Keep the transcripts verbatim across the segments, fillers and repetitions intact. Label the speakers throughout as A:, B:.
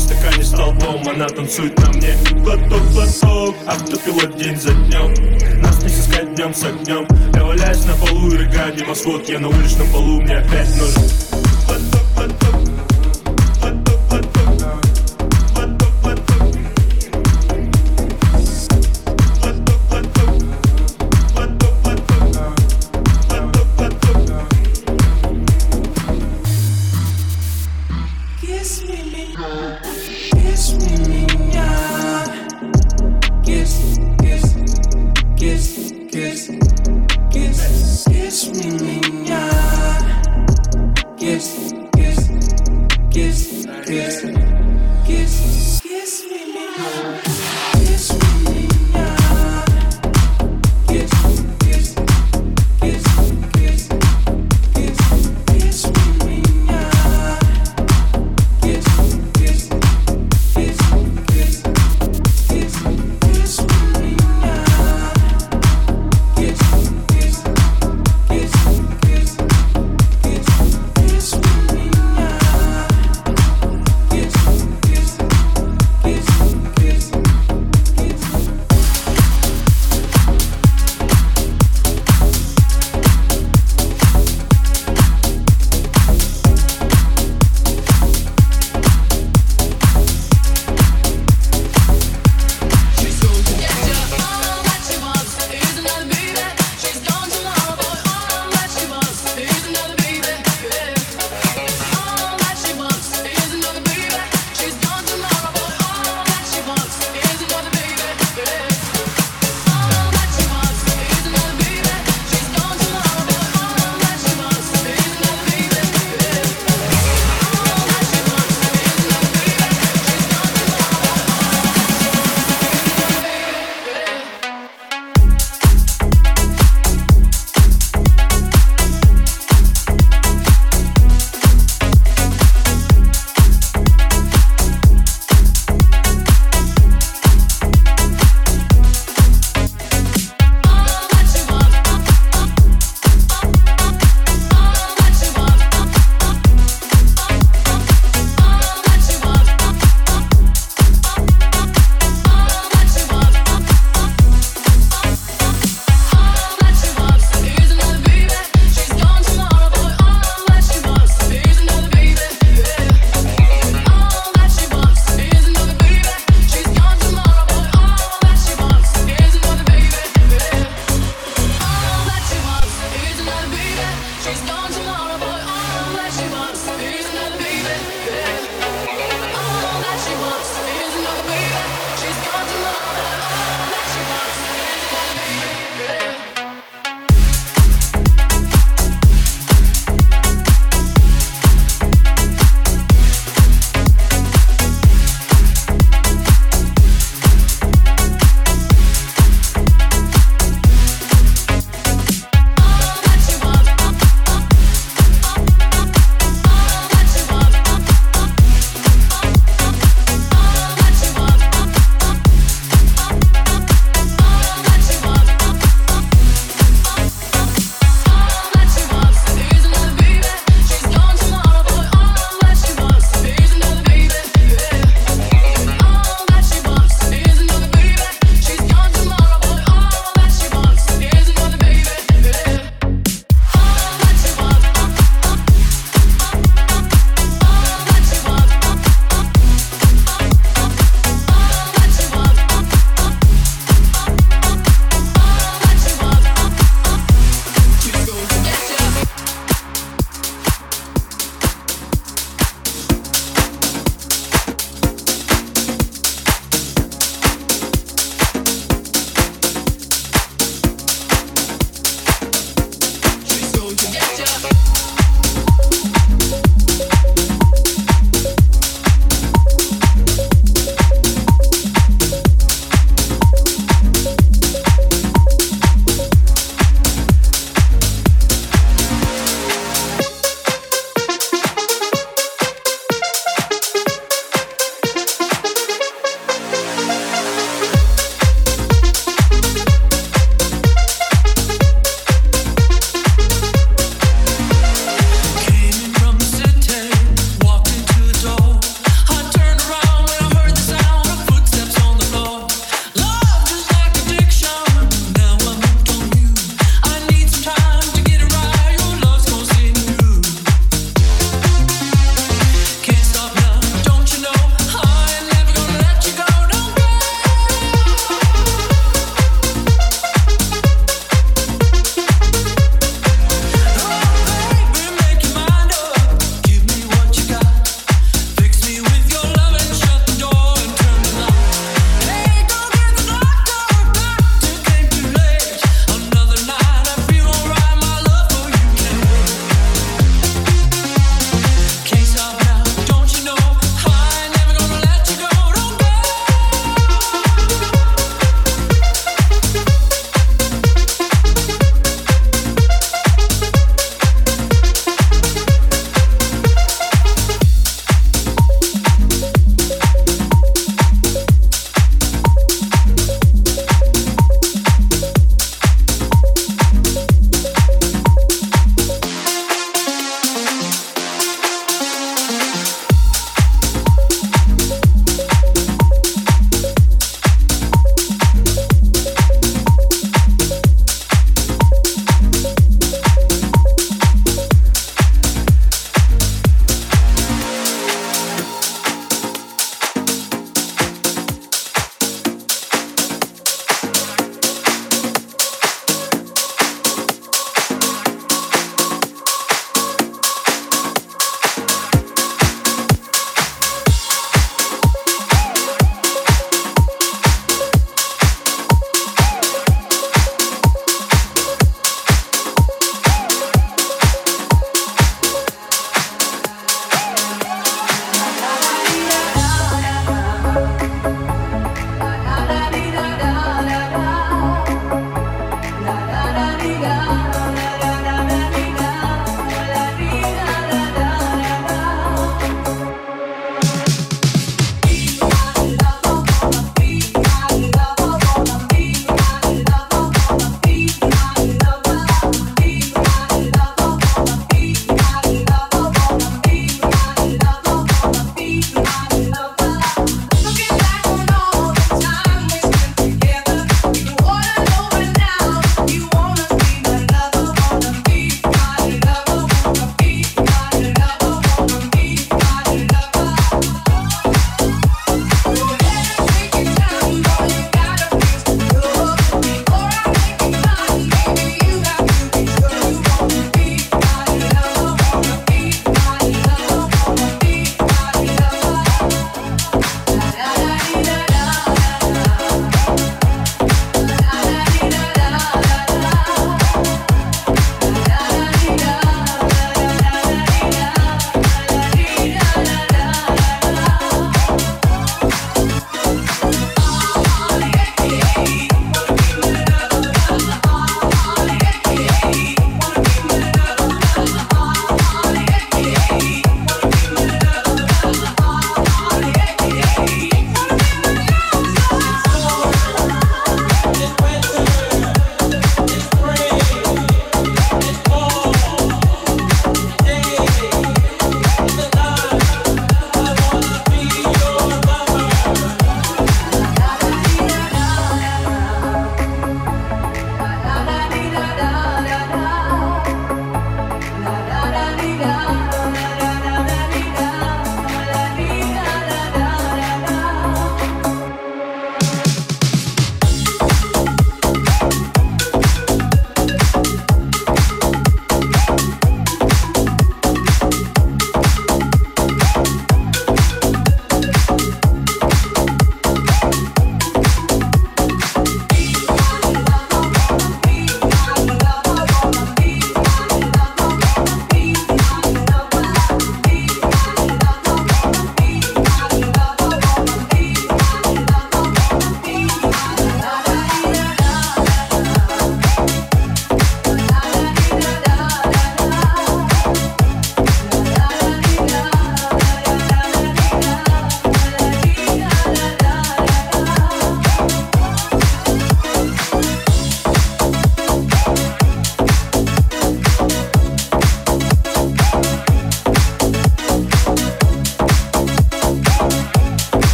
A: стакане столбом, она танцует на мне. Глоток, глоток, автопилот день за днем. Нас не сыскать днем с огнем. Я валяюсь на полу и рыгаю небосвод. Я на уличном полу, мне опять нужен глоток, глоток.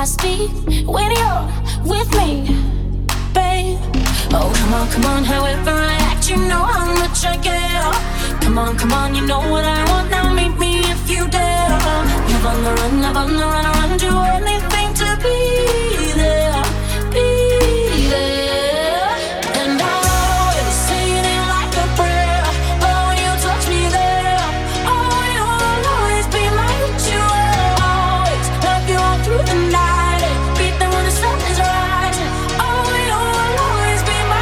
B: I speak when you're with me, babe. Oh, come on, come on, however I act, you know how much I care. Come on, come on, you know what I want, now meet me if you dare. Love on the run, love on the run, run, do anything to be there, be there. And I'll always say it like a prayer. Oh, when you touch me there, oh, you'll always be my ritual. Always love you all through the night, beat them when the sun is rising. Oh, you'll always be my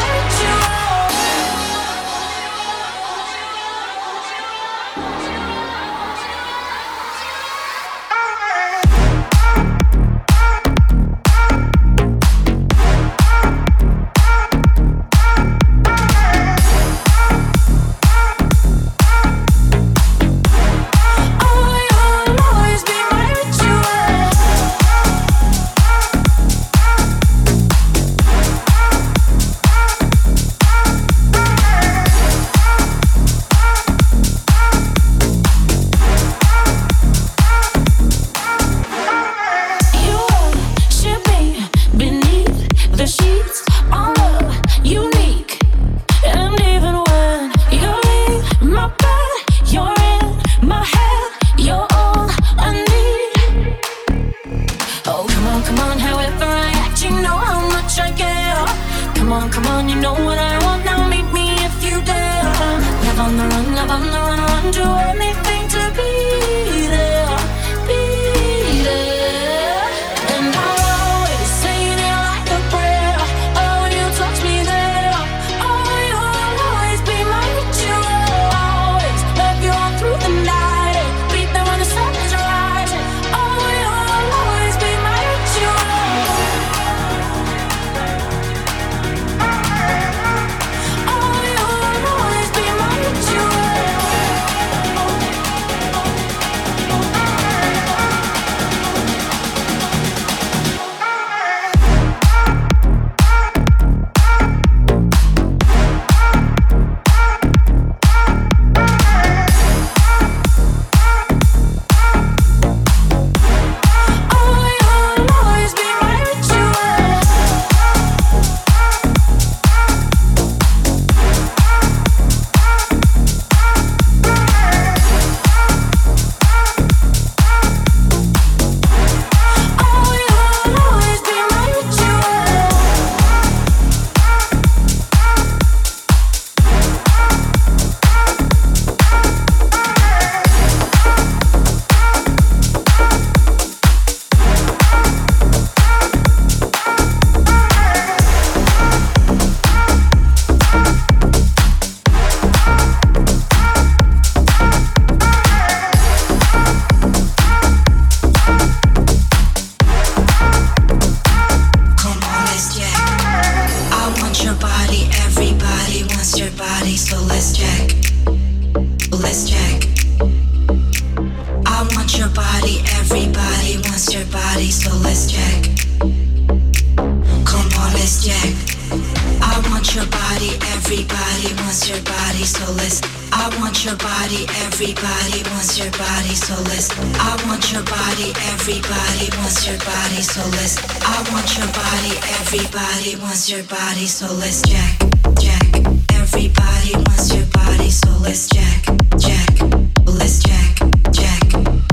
C: your body, so let's jack, jack. Everybody wants your body, so let's jack, jack. Let's jack, jack.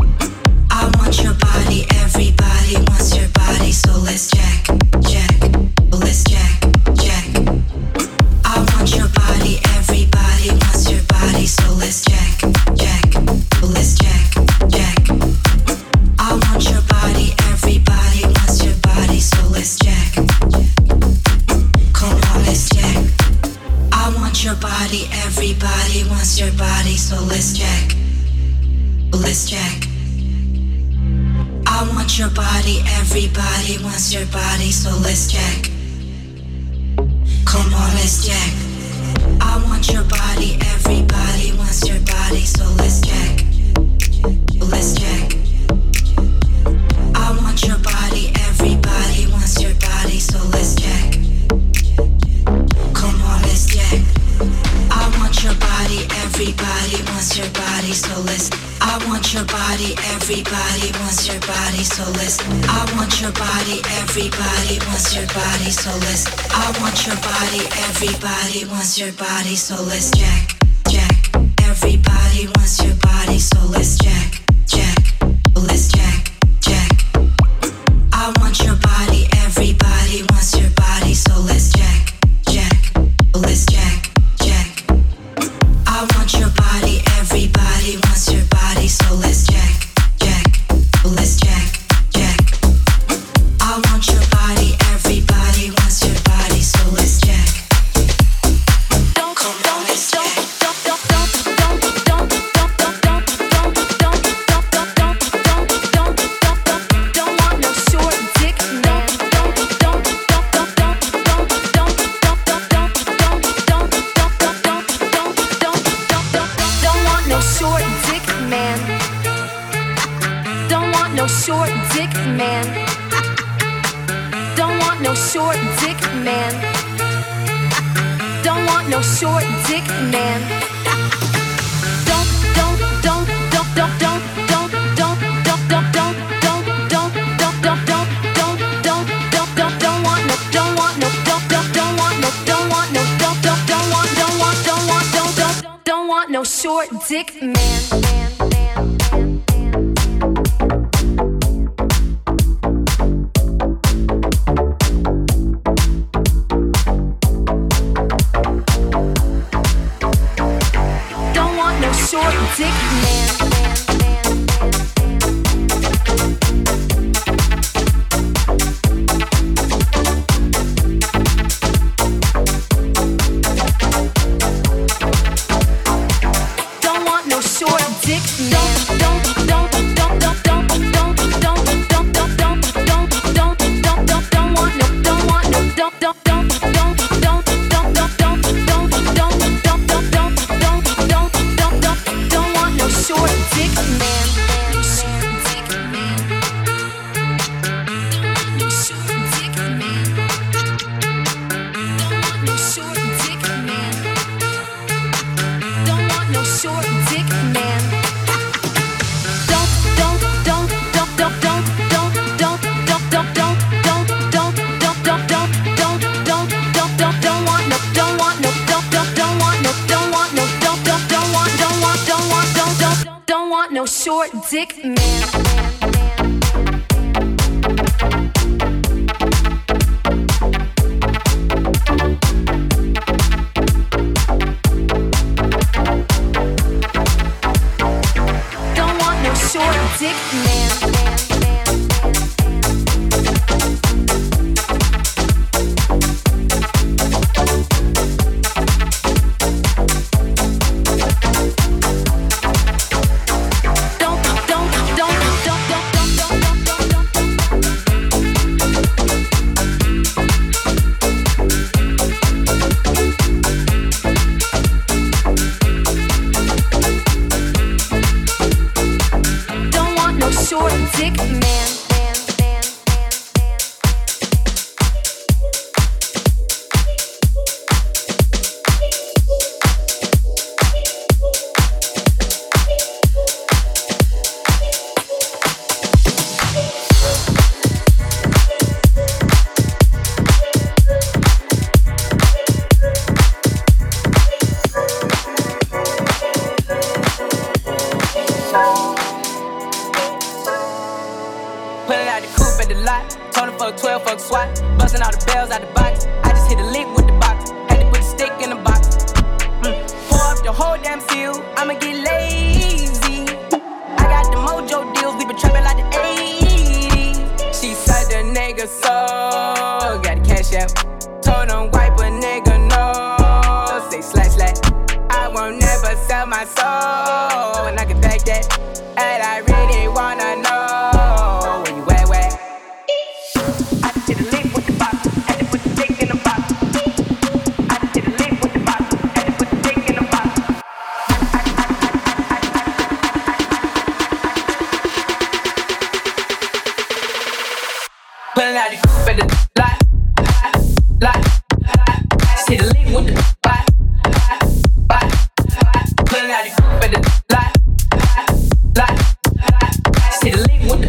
C: I want your body, everybody wants your body, so let's jack, jack. Let's jack, jack. I want your body, everybody wants your body, so let's jack, jack. Let's jack, jack. I want your body, everybody wants your body, so let's jack. Your body, everybody wants your body, so let's jack, let's jack. I want your body, everybody wants your body, so let's jack. Come on, let's jack. I want your body, everybody wants your body, so let's jack, let's jack. I want your body, everybody wants your body, so let's jack. Come on, let's jack. I want your body, everybody wants your body, so let's. I want your body, everybody everybody wants your body, so let's. I want your body, everybody wants your body, so let's. I want your body, everybody wants your body, so let's jack, jack. Everybody wants your body, so let's jack, jack. Let's jack, jack. I want your body, everybody wants your body, so let's jack, jack. Let's jack, jack. I want your body, everybody wants your body, so let's jack, jack. Let's jack, jack. I want your body, everybody wants your body, so let's jack. Don't, don't, don't, don't, don't, don't, don't, don't, don't, don't, don't, don't, don't, don't.
D: Short dick man. Don't want no short dick man. Don't want no short dick man. Don't don't don't don't don't don't don't don't don't don't don't don't don't don't don't don't don't don't don't want no don't want no don't don't don't want no don't want no don't don't don't want don't want don't want don't don't don't want no short dick man. Short dick man. Don't want no short dick man. Don't don't don't don't don't don't don't don't don't don't don't don't don't don't want no don't want no don't don't don't don't don't don't don't don't short dick man. Short dick man. Short dick man. Don't want no short dick man. Don't want no short dick man. Don't don't don't don't don't don't don't don't don't don't don't don't don't don't don't don't don't don't want no don't want no don't don't don't want no don't want no don't don't don't want don't want don't want don't don't don't want no short dick man. Don't want no short dick man. Short dick man.
E: twelve fuck SWAT, busting all the bells out the box. I just hit a lick with the box, had to put the stick in the box. Mm. Pour up the whole damn seal, I'ma get lazy. I got the mojo deals, we been trapping like the eighties. She said the nigga so, got the cash out. Told him wipe a nigga no, say slash slash. I won't never sell my soul, and I can back that. And I really wanna know where you at, where? I just hit a lick with the box, had to put the dick in the box. I just hit a lick with the box, had to put the dick in the box. Pulling out the coupe at the lot, lot, lot. Just hit a lick with the box, box, box. Pulling out the coupe at the lot, lot, lot. Just hit a lick with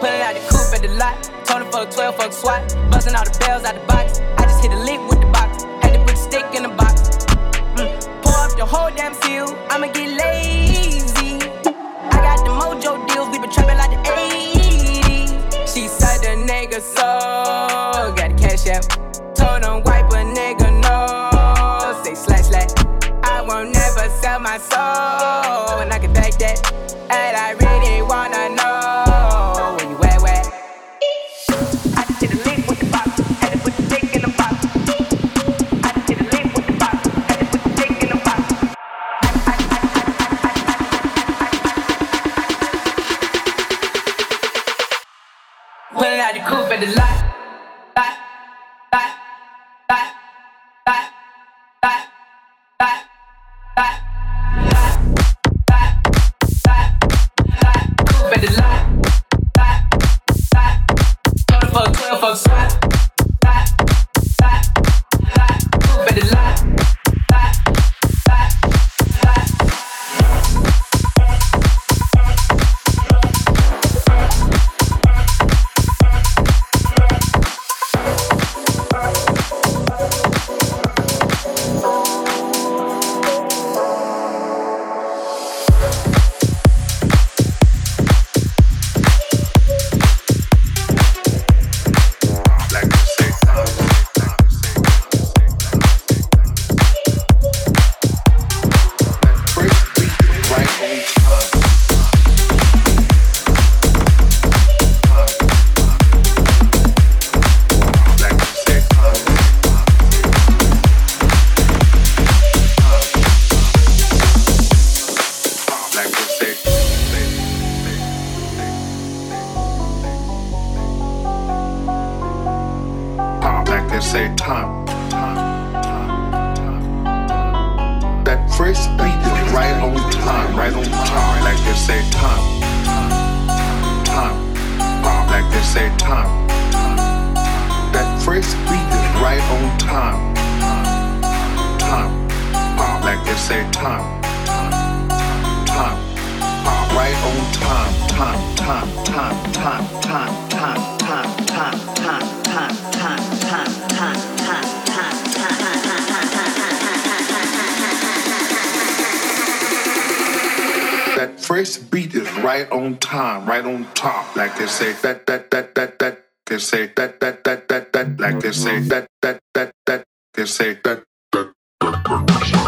E: Pulling out the coupe at the lot. Tony fuck twelve, fuck SWAT. Busting all the bells out the box. I just hit a lick with the box. Had to put the stick in the box. Mm. Pour up the whole damn seal. I'ma get lazy. I got the mojo deals. We been trapping like the eighties. She said the nigga so. Got the cash out. Told him wipe a nigga no. Say slash slash. I won't never sell my soul. And I can back that. And I really wanna know where you at, where? I just hit a lick with the box. Had to put the stick in the box. I just hit a lick with the box. Had to put the stick in the box. Pulling out the coupe at the lot. Lot, lot, lot, lot, lot, lot, lot. At the lot, lot, lot. Tony fuck twelve, fuck SWAT. Lot, lot, lot. Coupe at the lot, lot, lot, lot.
F: Say time, time, time, time. That first beat is right on time, right on time. Like they say time, time, like they say time. That first beat is right on time, time, like they say time, time, right on time, time, time, time, time, time, time, time, time, time, time, time, time. That first beat is right on time, right on top. Like they say that that that that that. They say that that that that that. Like they say that that that that. They say that that that that.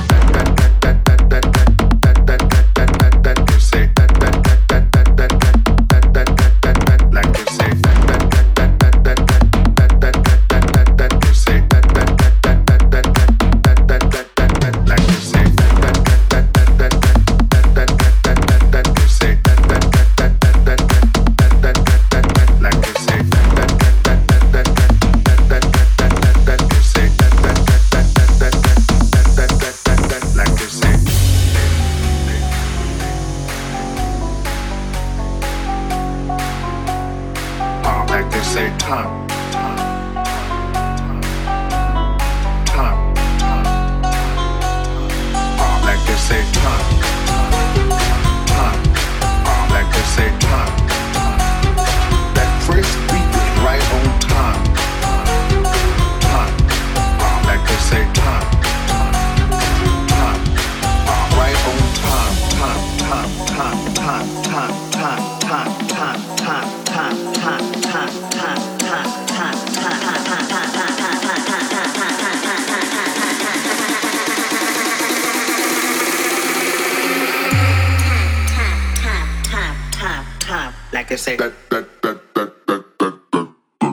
E: Like I say.
F: That, that, that, that, that, that, that.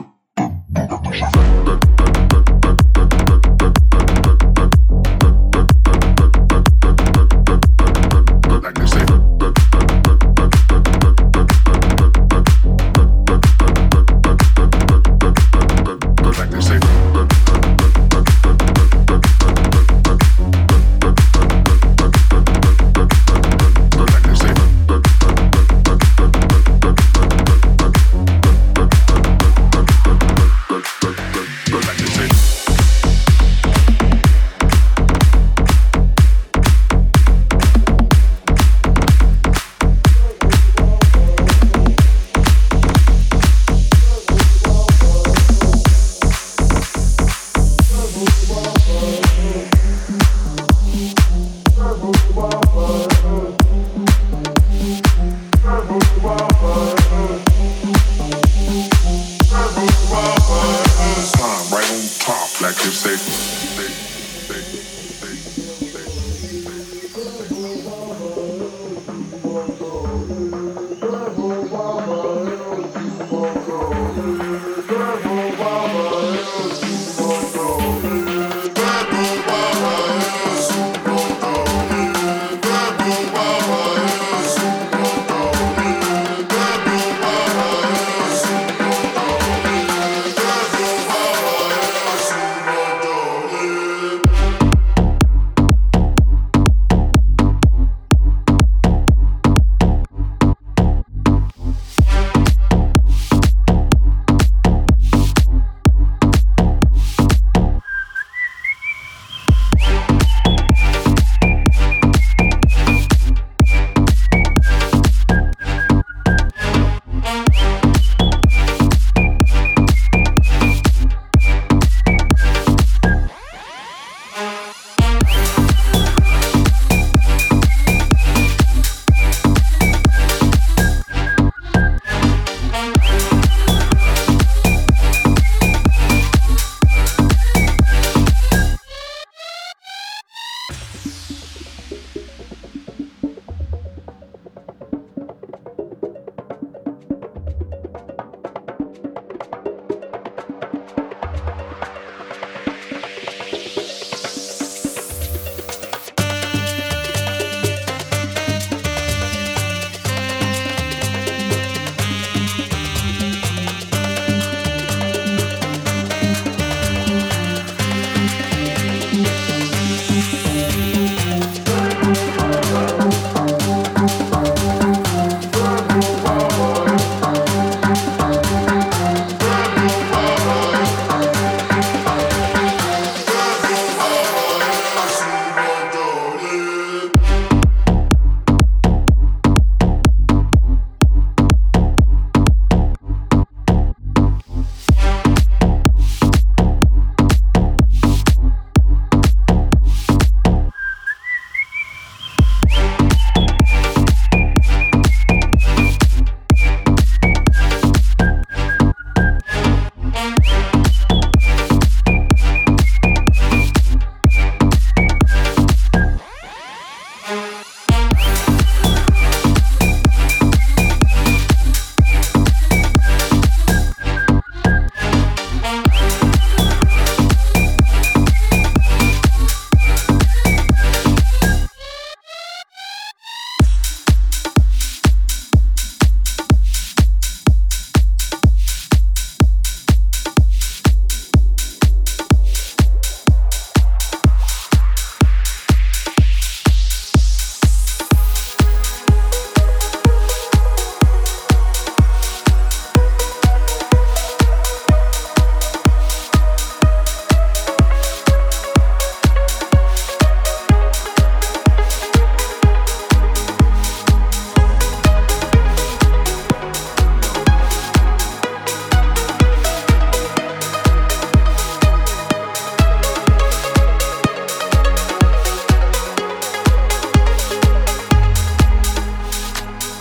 F: Like I say. Like I say. Like I say.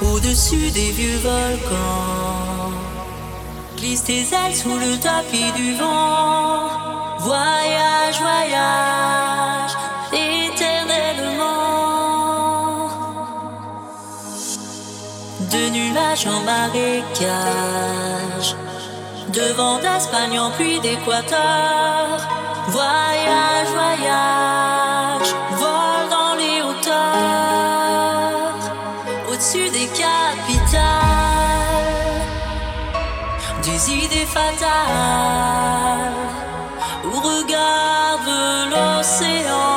G: Au-dessus des vieux volcans, glisse tes ailes sous le tapis du vent. Voyage, voyage, éternellement. De nuages en marécage, de vent d'Espagne en pluie d'Équateur. Voyage, voyage, vole dans les hauteurs, au-dessus des capitales, des idées fatales, ou regarde l'océan.